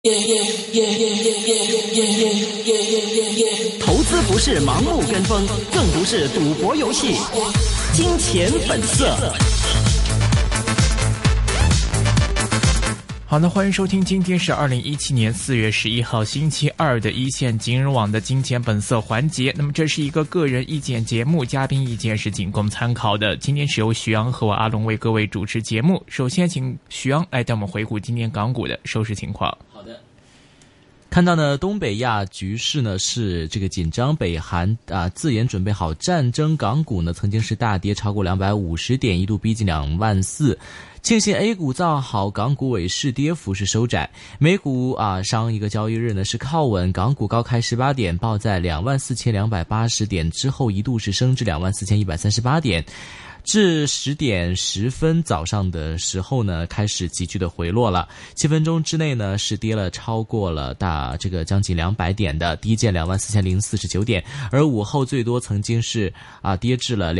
投资不是盲目跟风，更不是赌博游戏。金钱本色。 好的，欢迎收听，今天是2017年4月11号星期二的一线金融网的金钱本色环节。那么这是一个个人意见节目，嘉宾意见是仅供参考的。今天是由徐阳和我阿龙为各位主持节目。首先请徐阳来带我们回顾今天港股的收市情况。 好的。看到呢，东北亚局势呢是这个紧张，北韩自研准备好战争，港股呢曾经是大跌超过250点，一度逼近24000。庆幸 A 股造好，港股尾市跌幅是收窄。美股上一个交易日呢是靠稳，港股高开18点，报在24280点，之后一度是升至24138点。至10点10分早上的时候呢，开始急剧的回落了。7分钟之内呢，是跌了超过了将近200点的，低见24049点，而午后最多曾经是跌至了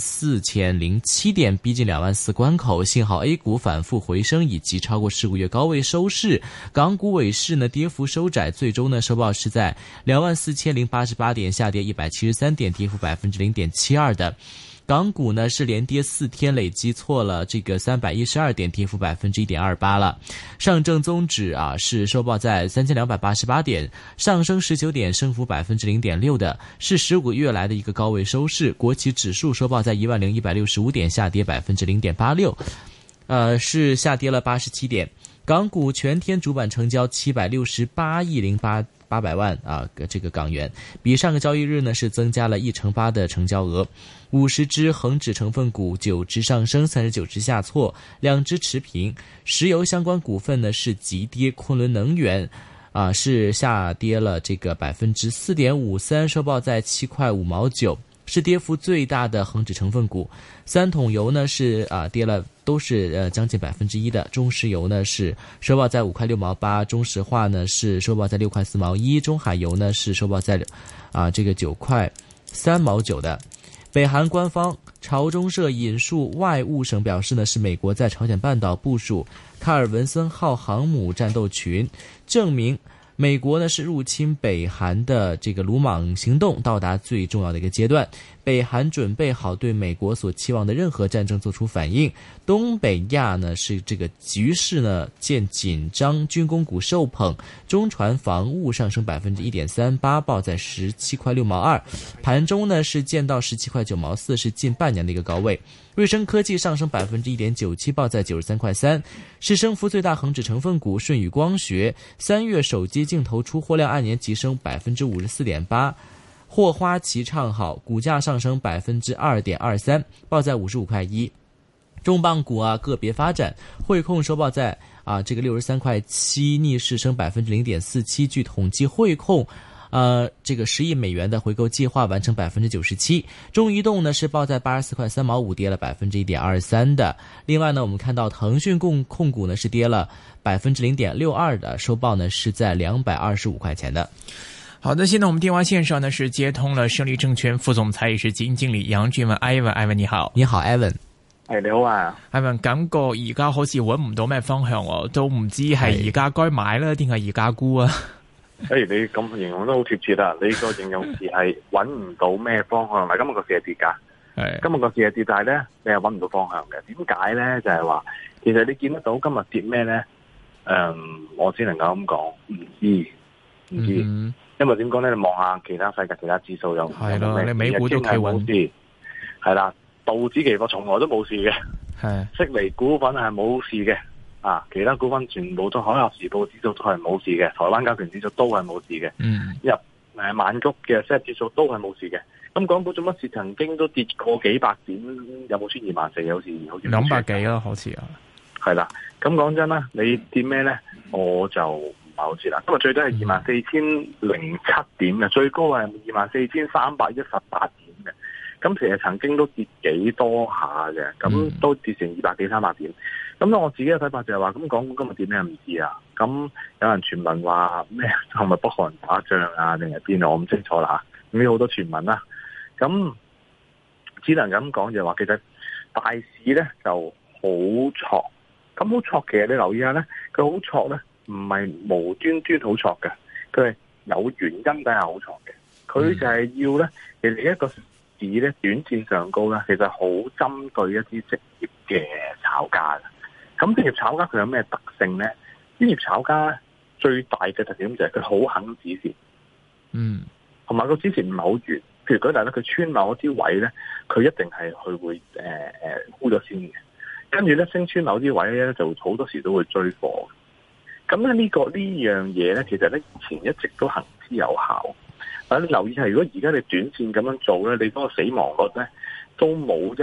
24007点，逼近24000关口。幸好 A 股反复回升，以及超过15个月高位收市。港股尾市呢跌幅收窄，最终呢收报是在24088点，下跌173点，跌幅0.72%的。港股呢是连跌4天，累积错了312点，跌幅1.28%了。上证综指是收报在3288点，上升19点，升幅0.6%的，是15个月来的一个高位收市。国企指数收报在10165点，下跌0.86%，是下跌了87点。港股全天主板成交768亿800万港元，比上个交易日呢是增加了1%的成交额。50只恒指成分股，9只上升，39只下挫，2只持平。石油相关股份呢是急跌，昆仑能源是下跌了4.53%，收报在7块5毛9，是跌幅最大的恒指成分股。三桶油呢是跌了，都是将近1%的。中石油呢是收报在5块6毛8，中石化呢是收报在6块4毛1，中海油呢是收报在9块3毛9的。北韩官方朝中社引述外务省表示呢，是美国在朝鲜半岛部署卡尔文森号航母战斗群，证明美国呢是入侵北韩的鲁莽行动到达最重要的一个阶段，北韩准备好对美国所期望的任何战争做出反应。东北亚呢是局势呢见紧张，军工股受捧，中船防务上升1.38%，报在17块6毛2，盘中呢是见到17块9毛4，是近半年的一个高位。瑞声科技上升1.97%，报在93块3，是升幅最大恒指成分股。舜宇光学3月手机镜头出货量按年急升54.8%，霍花旗唱好，股价上升2.23%，报在55块1。重磅股个别发展，汇控收报在63块7，逆势升0.47%。据统计，汇控10亿美元的回购计划完成97%。中移动呢是报在84块3毛5，跌了1.23%的。另外呢，我们看到腾讯控股呢是跌了0.62%的，收报呢是在225块钱的。 好的，现在我们电话线上呢是接通了胜利证券副总裁也是基金经理杨俊文 Ivan 你好。 你好 Ivan。 你好啊 Ivan， 感覺而家好似揾唔到咩方向喎，都唔知係而家該買啦定係而家沽啊？ 你咁形容都好貼切啦！你個形容詞係揾唔到咩方向，嗱，今日個市係跌㗎，今日個市係跌，但係咧你係揾唔到方向嘅。點解咧？就係話其實你見得到今日跌咩咧？我只能夠咁講，唔知，因為點講咧？你望下其他世界其他指數又係咯， 你美股都企穩， 係啦。道指期貨從來都冇事嘅，悉尼股份係冇事嘅，其他股份全部都海峽時報指數都係冇事嘅，台灣加權指數都係冇事嘅，入曼谷嘅 SET 指數都係冇事嘅。咁港股做乜事曾經都跌過幾百點，有冇穿24000？好似 200幾啦，好似係啦。咁講真啦，你跌咩咧？我就唔係好知啦。今日最低係24007點嘅，最高係24318點嘅。咁其實曾經都跌幾多下嘅，咁都跌成200幾300點。咁我自己嘅睇法就係話，咁港股今日跌咩唔知啊？咁有人傳聞話咩係咪北韓打仗啊，定係邊啊？我唔清楚啦嚇。咁有好多傳聞啦。咁只能咁講就係話，其實大市咧就好挫。咁好挫，其實你留意下咧，佢好挫咧， 唔係無端端好挫嘅，佢係有原因底下好挫嘅。佢就係要咧，其實一個市咧短線上高咧，其實好針對一啲職業嘅炒家嘅。咁職業炒家佢有咩特性咧？專業炒家最大嘅特點就係佢好肯止蝕，同埋個止蝕唔係好遠。譬如舉例咧，佢穿某一啲位咧，佢一定係佢會沽咗先嘅。跟住咧升穿某啲位咧，就好多時都會追貨。咁咧呢樣嘢咧，其實咧以前一直都行之有效。但你留意係，如果而家你短線咁樣做咧，你嗰個死亡率咧都冇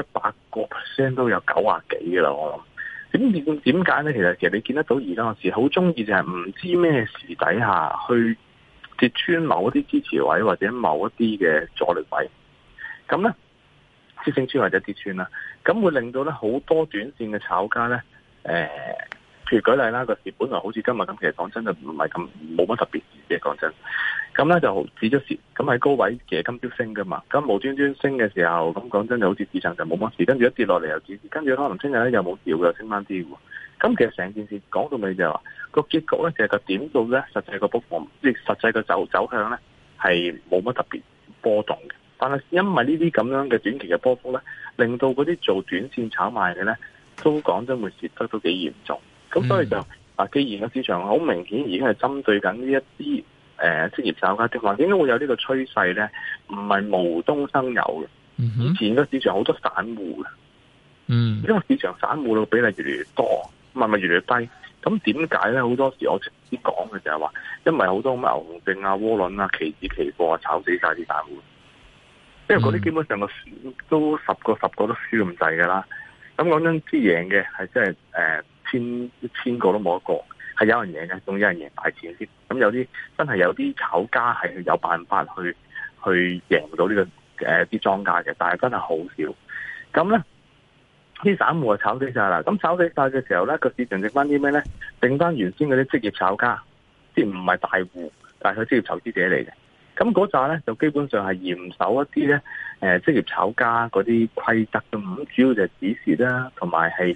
100%都有90幾嘅啦。我諗點解咧？其實你見得到而家個市好中意就係唔知咩時底下去跌穿某一啲支持位或者某一啲嘅阻力位，咁咧跌升穿或者跌穿啦，咁會令到咧好多短線嘅炒家咧譬如舉例啦，個市本來好似今日咁，其實講真就唔係咁冇乜特別嘅，講真。咁咧就止咗蝕，咁喺高位其實今朝升噶嘛，咁無端端升嘅時候，咁講真就好似市場就冇乜事，跟住一跌落嚟又止蝕，跟住可能聽日咧又冇事又升翻啲喎。咁其實成件事講到尾就係話個結局咧，就係個點數咧，實際個波幅即係實際個走向咧係冇乜特別波動嘅。但係因為呢啲咁樣嘅短期嘅波幅咧，令到嗰啲做短線炒賣嘅咧，都講真會蝕得都幾嚴重。咁所以就既然個市場好明顯已經係針對緊呢一啲職業炒家的話，點解會有呢個趨勢咧？唔係無中生有嘅。以前個市場好多散戶嘅，因為市場散戶嘅比例越嚟越多，咪越嚟越低。咁點解咧？好多時我直接講嘅就係話，因為好多咁牛熊證啊、窩輪啊、期指期貨啊，炒死晒啲散戶。因為嗰啲基本上都十個都輸咁滯㗎啦。咁講真，啲贏嘅係真係千個都冇一個係有人贏嘅，仲有人贏大錢先。咁有啲真係有啲炒家係有辦法去贏到呢個啲莊家嘅，但係真係好少。咁咧啲散戶就炒死晒啦。咁炒死晒嘅時候咧，個市場剩翻啲咩咧？剩翻原先嗰啲職業炒家，即係唔係大戶，但係佢職業投資者嚟嘅。咁嗰扎咧就基本上係嚴守一啲咧職業炒家嗰啲規則嘅。咁主要就係指示啦，同埋係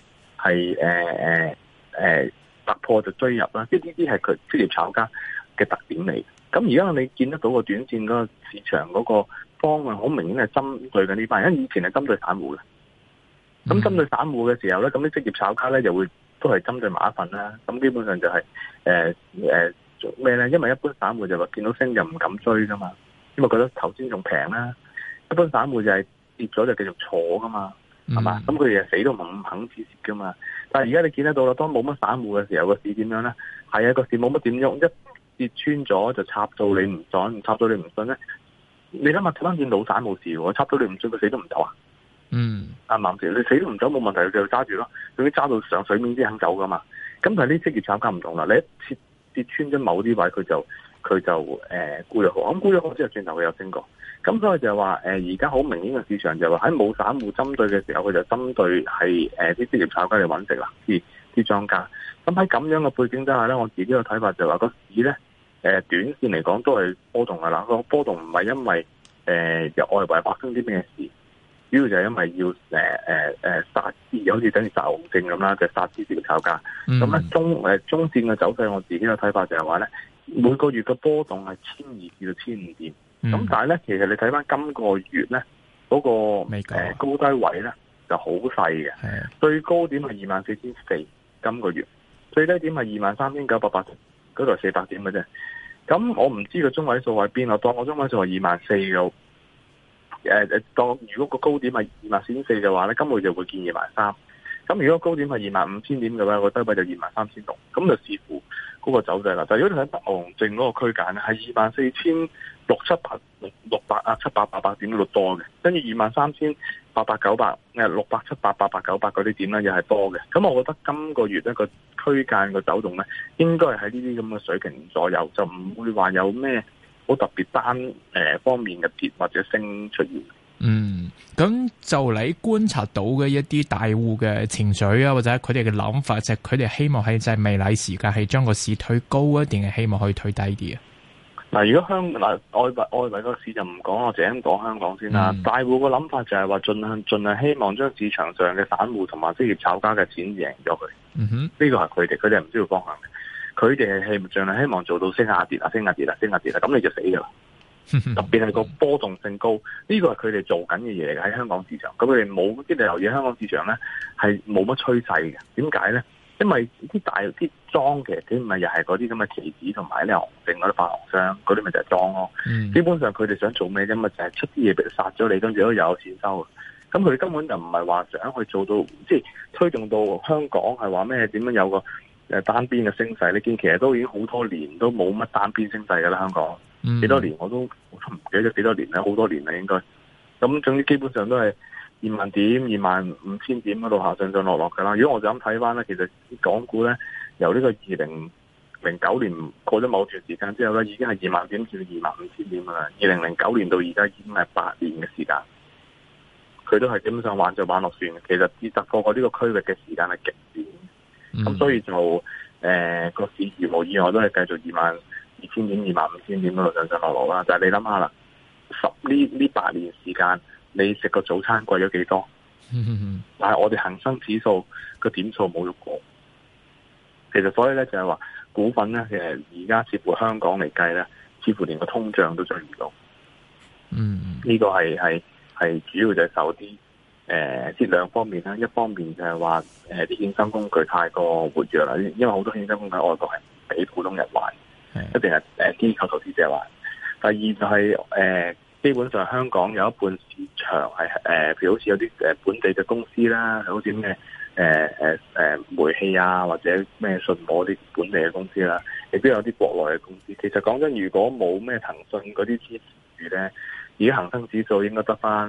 突破就追入啦，即係呢啲係佢職業炒家嘅特點嚟。咁而家你見得到個短線嗰個市場嗰個方向，好明顯係針對緊呢班人，因為以前係針對散戶嘅。咁針對散戶嘅時候咧，咁啲職業炒家咧就會都係針對埋一份啦。咁基本上就係做咩咧？因為一般散戶就話見到升就唔敢追噶嘛，因為覺得頭先仲平啦。一般散戶就係跌咗就繼續坐噶嘛，係嘛？咁佢哋死都唔肯止蝕噶嘛。但係而家你見得到啦，當冇乜散戶嘅時候，個市點樣咧？係啊，個市冇乜點喐，一跌穿咗就插到你唔信，插到你唔信咧。你諗下睇翻見老散冇事喎，插到你唔信，佢死都唔走啊！啱唔啱先？你死都唔走冇問題，佢就揸住咯。佢揸到上水面先肯走噶嘛。咁但係呢職業炒家唔同啦，你一跌穿咗某啲位，佢就沽咗好，咁沽咗好之後轉頭佢又升過。咁所以就係話而家好明顯嘅市場就係話喺冇散戶針對嘅時候，佢就針對係啲職業炒家嚟揾食啦，啲莊家。咁喺咁樣嘅背景之下咧，我自己嘅睇法就係話個市咧短線嚟講都係波動㗎啦。個波動唔係因為由外圍發生啲咩事，主要就係因為要殺啲，好似等於殺熊證咁啦，就殺啲職業炒家。咁咧中線嘅走勢，我自己嘅睇法就係話咧，每個月嘅波動係1200至到1500點。咁但係咧，其實你睇翻今個月咧嗰個高低位咧就好細嘅，最高點係24400，今個月最低點係23980，嗰度係400點嘅啫。咁我唔知個中位數喺邊，我當我中位數係24000嘅。當如果個高點係24400嘅話咧，今個月就會見23000。咁如果高點係25000點嘅話，個低位就23600。咁就視乎嗰個走勢啦。但係如果你睇牛熊證嗰個區間咧，係24600啊700-800點嗰度多嘅，跟住23800-900、600-700-800-900嗰啲點咧又係多嘅。咁我覺得今個月一個區間個走動咧，應該係喺呢啲咁嘅水平左右，就唔會話有咩好特別單方面嘅跌或者升出現。 咁就你觀察到嘅一啲大戶嘅情緒啊，或者佢哋嘅諗法，就係佢哋希望喺就係未來時間係將個市推高啊，定係希望可以推低啲啊？嗱，如果外圍個市就唔講，我淨係講香港先啦。大戶個諗法就係話盡量希望將市場上嘅散戶同埋職業炒家嘅錢贏咗佢。呢個係佢哋係唔知道方向嘅。 佢哋係盡量希望做到升下跌啦，咁你就死噶啦。特別係個波動性高，呢個係佢哋做緊嘅嘢喺香港市場。咁佢哋冇啲留意香港市場咧，係冇乜趨勢嘅。點解咧？因為啲大啲莊其實佢唔係又係嗰啲咁嘅期指同埋呢熊證嗰啲發行商，嗰啲咪就係莊咯。基本上佢哋想做咩啫嘛？就係出啲嘢俾佢殺咗你，跟住都有錢收。咁佢哋根本就唔係話想去做到，即係推動到香港係話咩點樣有個單邊嘅升勢。你見其實都已經好多年都冇乜單邊升勢噶啦，香港。幾多年我都唔記得咗幾多年啦，好多年啦應該。咁總之基本上都係20000點、25000點嗰度下上落噶啦。如果我就咁睇翻咧，其實港股咧由呢個2009年過咗某段時間之後咧，已經係20000點至25000點噶啦。2009年到而家已經係8年嘅時間，佢都係基本上玩就玩落算。其實至突破過呢個區域嘅時間係極短，咁所以就個市如無意外都係繼續22000點、25000點嗰度上落啦。就係你諗下啦，呢8年時間，你食個早餐貴咗幾多？但係我哋恒生指數個點數冇喐過。其實所以咧就係話股份咧，其實而家似乎香港嚟計咧，似乎連個通脹都追唔到。呢個係主要就係受啲即兩方面啦。一方面就係話啲衍生工具太過活躍啦，因為好多衍生工具喺外國係唔俾普通人玩。一定係機構投資者玩。第二就係基本上香港有一半市場係譬如好似有啲本地嘅公司啦，好似咩煤氣啊或者咩信和啲本地嘅公司啦，亦都有啲國內嘅公司。其實講真，如果冇咩騰訊嗰啲支持咧，而家恒生指數應該得翻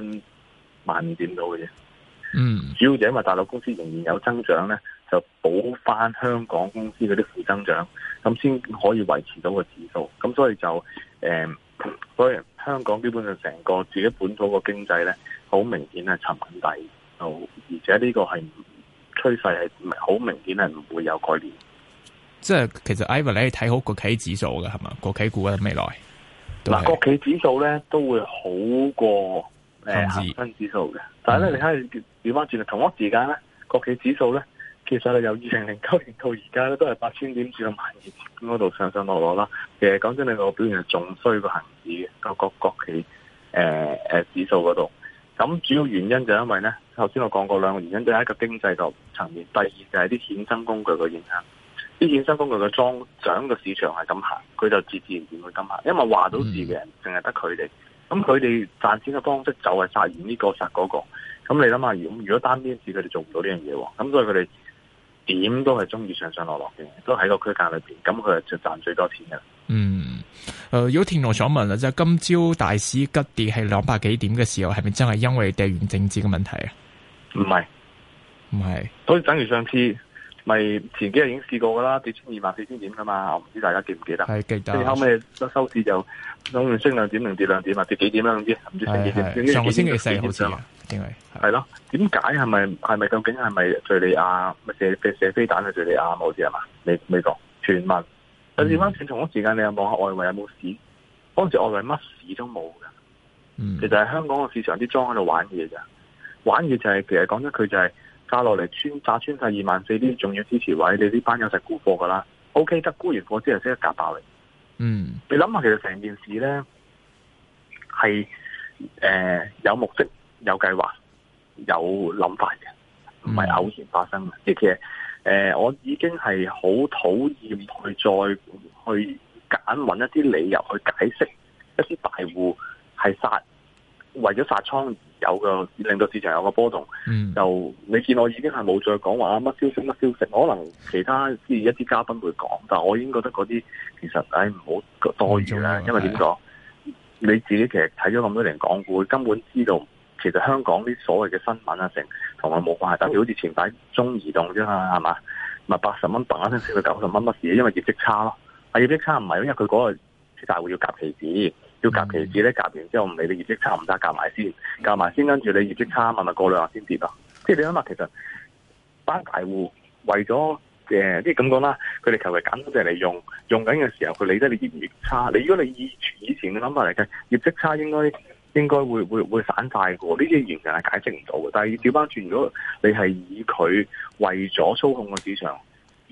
15000點到嘅啫。主要就因為大陸公司仍然有增長咧，就補翻香港公司嗰啲負增長，咁先可以維持到個指數。咁所以就所以香港基本上成個自己本土個經濟咧，好明顯係沉緊底，而且呢個係趨勢係好明顯係唔會有改變。 即係其實 Ivan 你係睇好國企指數嘅係嘛？國企股嘅未來嗱，國企指數咧都會好過恒生指數嘅，但係咧你睇調翻轉，同一時間咧國企指數咧，其實由2009年到而家咧都係8000點至到12000點嗰度上落啦。其實講真，你個表現係仲衰過恒指嘅個國企指數嗰度。咁主要原因就因為咧，頭先我講過兩個原因，就係一個經濟個層面，第二就係啲衍生工具嘅影響。啲衍生工具嘅漲嘅市場係咁行，佢就自然會咁行，因為話到事嘅人淨係得佢哋。咁佢哋賺錢嘅方式就係殺完呢個殺嗰個。咁你諗下，如果單邊市佢哋做唔到呢樣嘢喎，咁所以佢哋點都係中意上落嘅，都喺個區間裏邊，咁佢就賺最多錢嘅。 有聽眾想問啦，即係今朝大市急跌係200幾點嘅時候，係咪真係因為地緣政治嘅問題啊？ 唔係，所以等於上次咪前幾日已經試過噶啦，跌穿24000點噶嘛，我唔知大家記唔記得？係記得。跟住後尾收市就諗住升2點定跌2點啊？跌幾點啦？唔知升幾點？ 上個星期四好似因為係咯，點解係咪究竟係咪敘利亞咪射飛彈去敘利亞好似係嘛？美國傳聞。但係翻轉同一時間，你又望下外圍有冇市？嗰陣時外圍乜市都冇嘅。其實係香港個市場啲莊喺度玩嘢咋，玩嘢就係其實講真，佢就係炸落嚟炸穿晒24000啲重要支持位，你呢班友實沽貨噶啦。OK， 得沽完貨之後即刻夾爆你。你諗下，其實成件事咧係有目的、有計劃、有諗法嘅，唔係偶然發生嘅。即係其實。我已經係好討厭去再去揾一啲理由去解釋一啲大戶係為咗殺倉而令到市場有個波動。就你見我已經係冇再講話乜消息，可能其他一啲嘉賓會講，但我已經覺得嗰啲其實唔好多餘啦。因為點講？你自己其實睇咗咁多年港股，根本知道其實香港啲所謂嘅新聞啊同我冇關係。等於好似前排中移動啫嘛，係嘛？咪80蚊嘭一聲升到90蚊乜事？因為業績差咯。業績差唔係因為佢嗰個大戶要夾期指，咧夾完之後唔理你業績差唔得，夾埋先，跟住你業績差咪過2日先跌咯。即係你諗下，其實班大戶為咗即係咁講啦，佢哋求其揀多隻嚟用緊嘅時候，佢理得你業績差。如果你以前嘅諗法嚟計，業績差應該會散晒嘅喎，呢啲完全係解釋唔到嘅。但係調翻轉，如果你係以佢為咗操控個市場而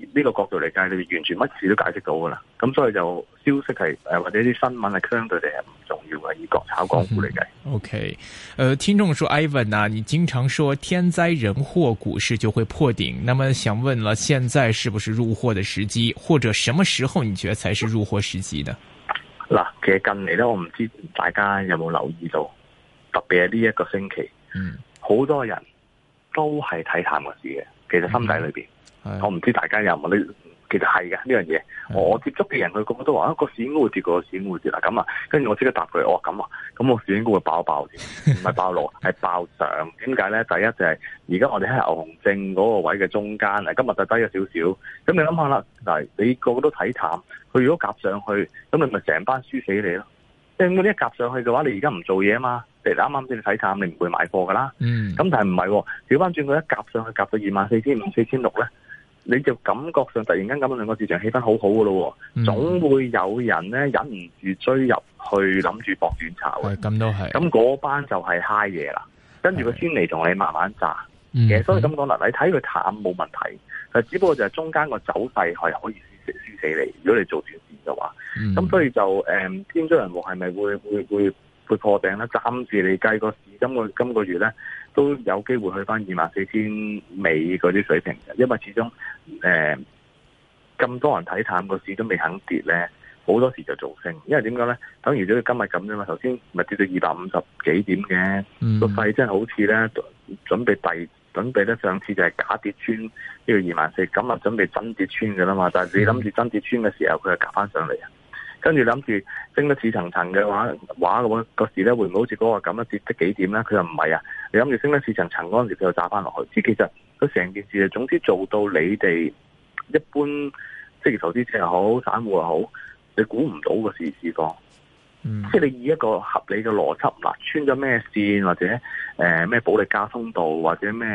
呢個角度嚟計，你完全乜事都解釋到噶啦。咁所以就消息係或者啲新聞係相對地係唔重要嘅，以國炒港股嚟計。 OK， 聽眾說 Ivan 啊，你經常說天災人禍股市就會破頂，那麼想問了，現在是不是入貨的時機，或者什麼時候你覺得才是入貨時機呢？ 嗱，其實近嚟咧，我唔知大家有冇留意到，特別係呢一個星期，好多人都係睇淡個市嘅。其實心底裏邊，我唔知大家有冇呢？其實係嘅呢樣嘢。我接觸嘅人，佢個個都話個市應該會跌，個市應該會跌啦。咁啊，跟住我即刻答佢，我話咁啊，咁個市應該會爆先，唔係爆落，係爆上。點解咧？第一就係而家我哋喺牛熊證嗰個位嘅中間，今日就低咗少少。咁你諗下啦，嗱，你個個都睇淡，佢如果夾上去，咁你咪成班輸死你咯。即係嗰啲一夾上去嘅話，你而家唔做嘢啊嘛。啱啱先你睇淡，你唔會買貨噶啦。咁但係唔係，調翻轉佢一夾上去，夾到24,500、4,600咧，你就感覺上突然間咁樣兩個市場氣氛好好噶咯。總會有人咧忍唔住追入去，諗住搏短炒嘅。咁都係。咁嗰班就係嗨嘢啦。跟住佢先嚟同你慢慢炸。其實所以咁講啦，你睇佢淡冇問題，但只不過就係中間個走勢係可以輸死你。如果你做短線嘅話，咁所以就天災人禍係咪會破頂咧？暫時你計個市今個月咧都有機會去翻24,000尾嗰啲水平嘅，因為始終咁多人睇淡個市都未肯跌咧，好多時就做升。因為點講咧？等於咗今日咁啫嘛，頭先咪跌到250幾點嘅，個勢真係好似咧準備咧上次就係假跌穿呢個24,000，咁啊準備真跌穿嘅啦嘛。但係你諗住真跌穿嘅時候，佢就夾翻上嚟啊！跟住諗住升得似層層嘅話個市咧會唔會好似嗰個咁樣跌得幾點咧？佢又唔係啊！你諗住升得似層層嗰陣時，佢又炸翻落去。其實佢成件事總之做到你哋一般職業投資者又好，散戶又好，你估唔到個市況。即係你以一個合理嘅邏輯，嗱，穿咗咩線或者咩保利加通道或者咩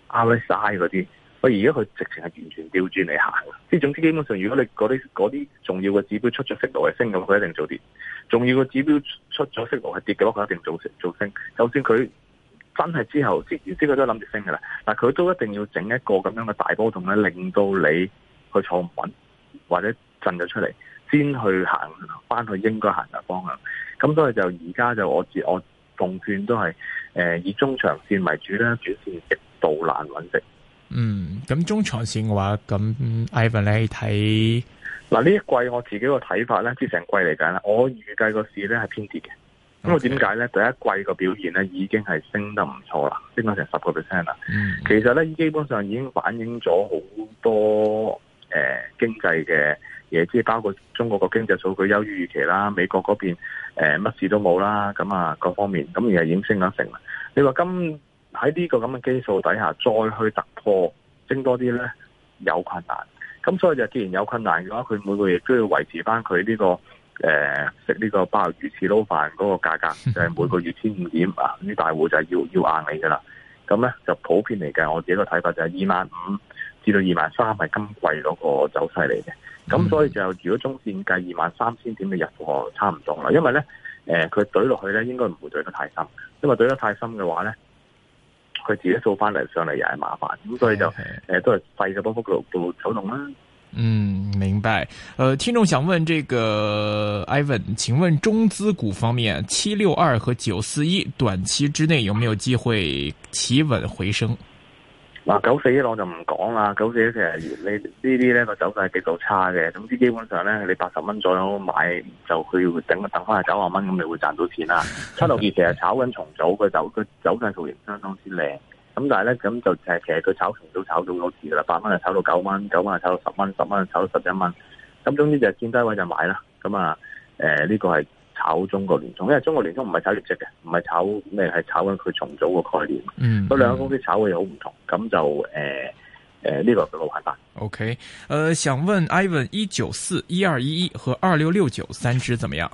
RSI 嗰啲。而家佢直情係完全調轉嚟行，即係總之基本上，如果你嗰啲重要嘅指標出咗息路係升咁，佢一定做跌；重要嘅指標出咗息路係跌嘅話，佢一定做升。就算佢真係之後之前佢都諗住升嘅啦，但係佢都一定要整一個咁樣嘅大波動咧，令到你去坐唔穩或者震咗出嚟，先去行翻去應該行嘅方向。咁所以就而家就我奉勸都係以中長線為主啦，短線極度難穩定。 咁中長線嘅話，咁 Ivan 你睇嗱呢一季我自己個睇法咧，即係成季嚟講咧，我預計個市咧係偏跌嘅。咁我點解咧？第一季個表現咧已經係升得唔錯啦，升咗成10% 啦。其實咧基本上已經反映咗好多經濟嘅嘢，即係包括中國個經濟數據優於預期啦，美國嗰邊乜事都冇啦，咁啊各方面咁而係已經升咗成啦。你話喺呢個咁嘅基數底下，再去突破升多啲咧，有困難。咁所以就既然有困難嘅話，佢每個月都要維持翻佢呢個食呢個鮑魚翅撈飯嗰個價格，就係每個月1,500點啊！啲大戶就係要硬你噶啦。咁咧就普遍嚟計，我自己個睇法就係25,000至到23,000係今季嗰個走勢嚟嘅。咁所以就如果中線計23,000點嘅入貨差唔多啦。因為咧佢懟落去咧應該唔會懟得太深，因為懟得太深嘅話咧，佢自己掃翻嚟上嚟又係麻煩，咁所以就都係細嘅波幅度走動啦。 明白。聽眾想問這個 Ivan， 請問中資股方面，762和941短期之內有沒有機會企穩回升？ 嗱，941我就唔講啦，941其實你呢啲咧個走勢係極度差嘅，總之基本上咧你80蚊左右買就佢要等翻去90蚊，咁你會賺到錢啦。762其實炒緊重組，佢走勢圖形相當之靚，咁但係咧咁就其實佢炒重組炒到好遲啦，8蚊就炒到9蚊，9蚊就炒到10蚊，10蚊就炒到11蚊，咁總之就見低位就買啦。咁啊呢個係炒中國聯通，因為中國聯通唔係炒業績嘅，唔係炒咩，係炒緊佢重組個概念。嗰兩個公司炒嘅嘢好唔同，咁就呢個就好簡單。 OK，想問 Ivan，194、1211和2669三支怎麼樣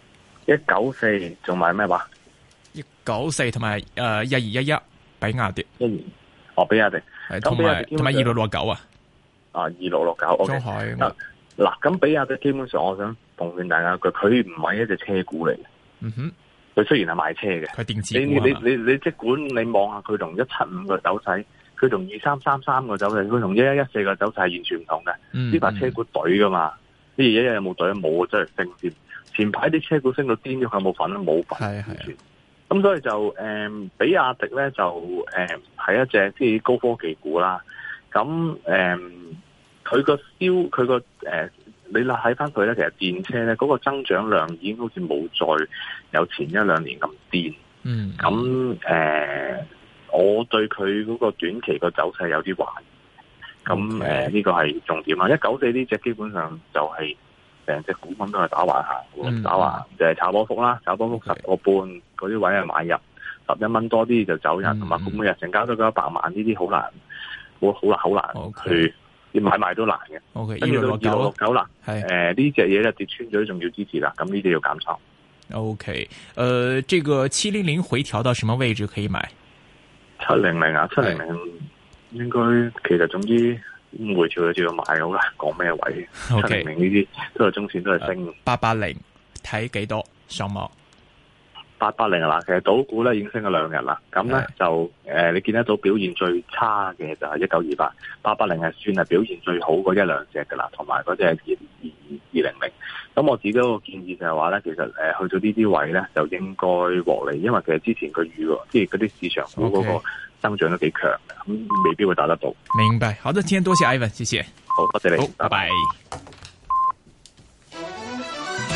？194仲買咩話 ？194同埋1211比亞迪。 比亞迪， 同埋2669啊。 2669。 中海。 嗱，咁比亞迪基本上，我想奉勸大家佢唔係一隻車股嚟嘅。佢雖然係賣車嘅， 佢電子股你即管你望下佢同175嘅走勢， 佢同2333個走勢，佢同1114個走勢係完全唔同嘅。呢排車股隊噶嘛，呢11有冇隊？冇，真係升添。前排啲車股升到癲咗，佢有冇份啊？冇份，完全。咁所以就比亞迪咧就係一隻即係高科技股啦。咁佢個你睇翻佢咧，其實電車咧嗰個增長量已經好似冇再有前一兩年咁癲。咁我對佢嗰個短期個走勢有啲懷疑。咁呢個係重點啦。194呢隻基本上就係成隻股份都係打橫行，打橫就係炒波幅啦，炒波幅10個半嗰啲位係買入，11蚊多啲就走人，同埋每日成交都100萬，呢啲好難去要買賣都難嘅。跟住到2669啦，呢隻嘢咧跌穿咗，仲要支持啦，咁呢啲要減倉。 OK，這個700回調到什麼位置可以買 ？700啊，700應該其實總之回調就要買，好難講咩位。700呢啲都係中線都係升。880 睇幾多上網 ？880啦，其實賭股咧已經升咗2日啦。咁咧就你見得到表現最差嘅就係1928，880係算係表現最好嗰一兩隻噶啦，同埋嗰隻200。咁我自己個建議就係話咧，其實去到呢啲位咧就應該獲利，因為其實之前佢即係嗰啲市場股嗰個增長都幾強嘅，咁未必會打得到。 明白，好的，今天多謝 Ivan，謝謝。 好，多謝你， 拜拜。